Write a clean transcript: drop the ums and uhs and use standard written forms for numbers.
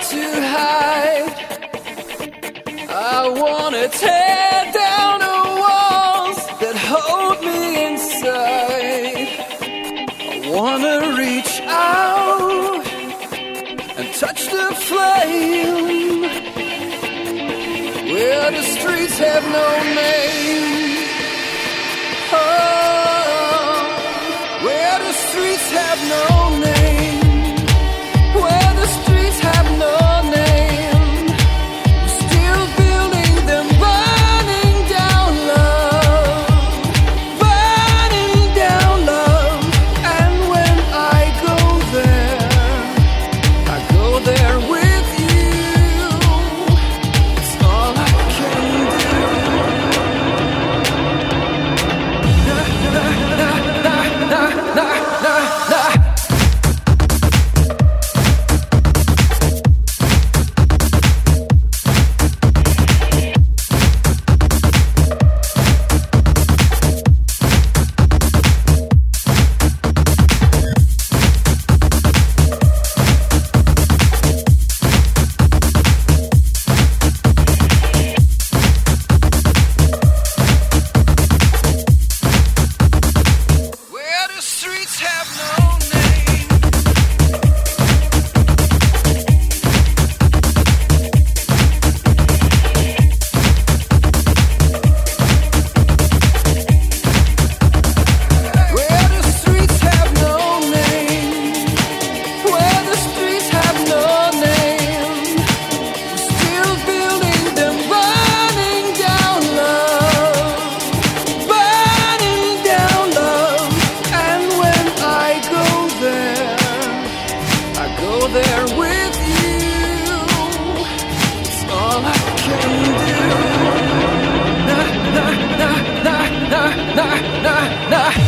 to hide. I wanna tear down the walls that hold me inside. I wanna reach out and touch the flame where the streets have no name. Oh, where the streets have no name. Where the streets have no name. We're still building them, burning down love. Burning down love. And when I go there with you. It's all I can do. Na, na, na, na, na, na, na, na. Where the streets have no name. Where the streets have no name. Where the streets have no name. We're still building them, burning down love. Burning down love. And when I go there with you. It's all I can do. Na, na, na, na, na, na, na, na.